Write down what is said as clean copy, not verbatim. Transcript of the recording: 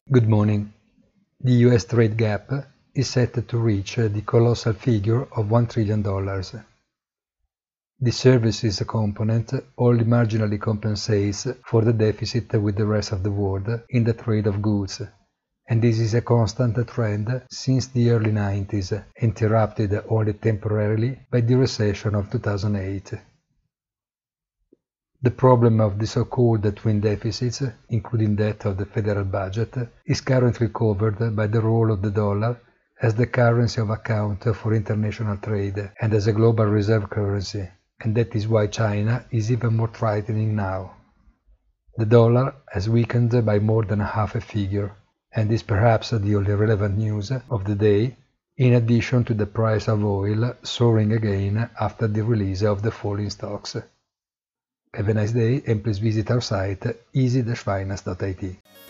Good morning. The US trade gap is set to reach the colossal figure of $1 trillion. The services component only marginally compensates for the deficit with the rest of the world in the trade of goods, and this is a constant trend since the early 90s, interrupted only temporarily by the recession of 2008. The problem of the so-called twin deficits, including that of the federal budget, is currently covered by the role of the dollar as the currency of account for international trade and as a global reserve currency, and that is why China is even more threatening now. The dollar has weakened by more than half a figure, and is perhaps the only relevant news of the day, in addition to the price of oil soaring again after the release of the falling stocks. Have a nice day and please visit our site easy-finance.it.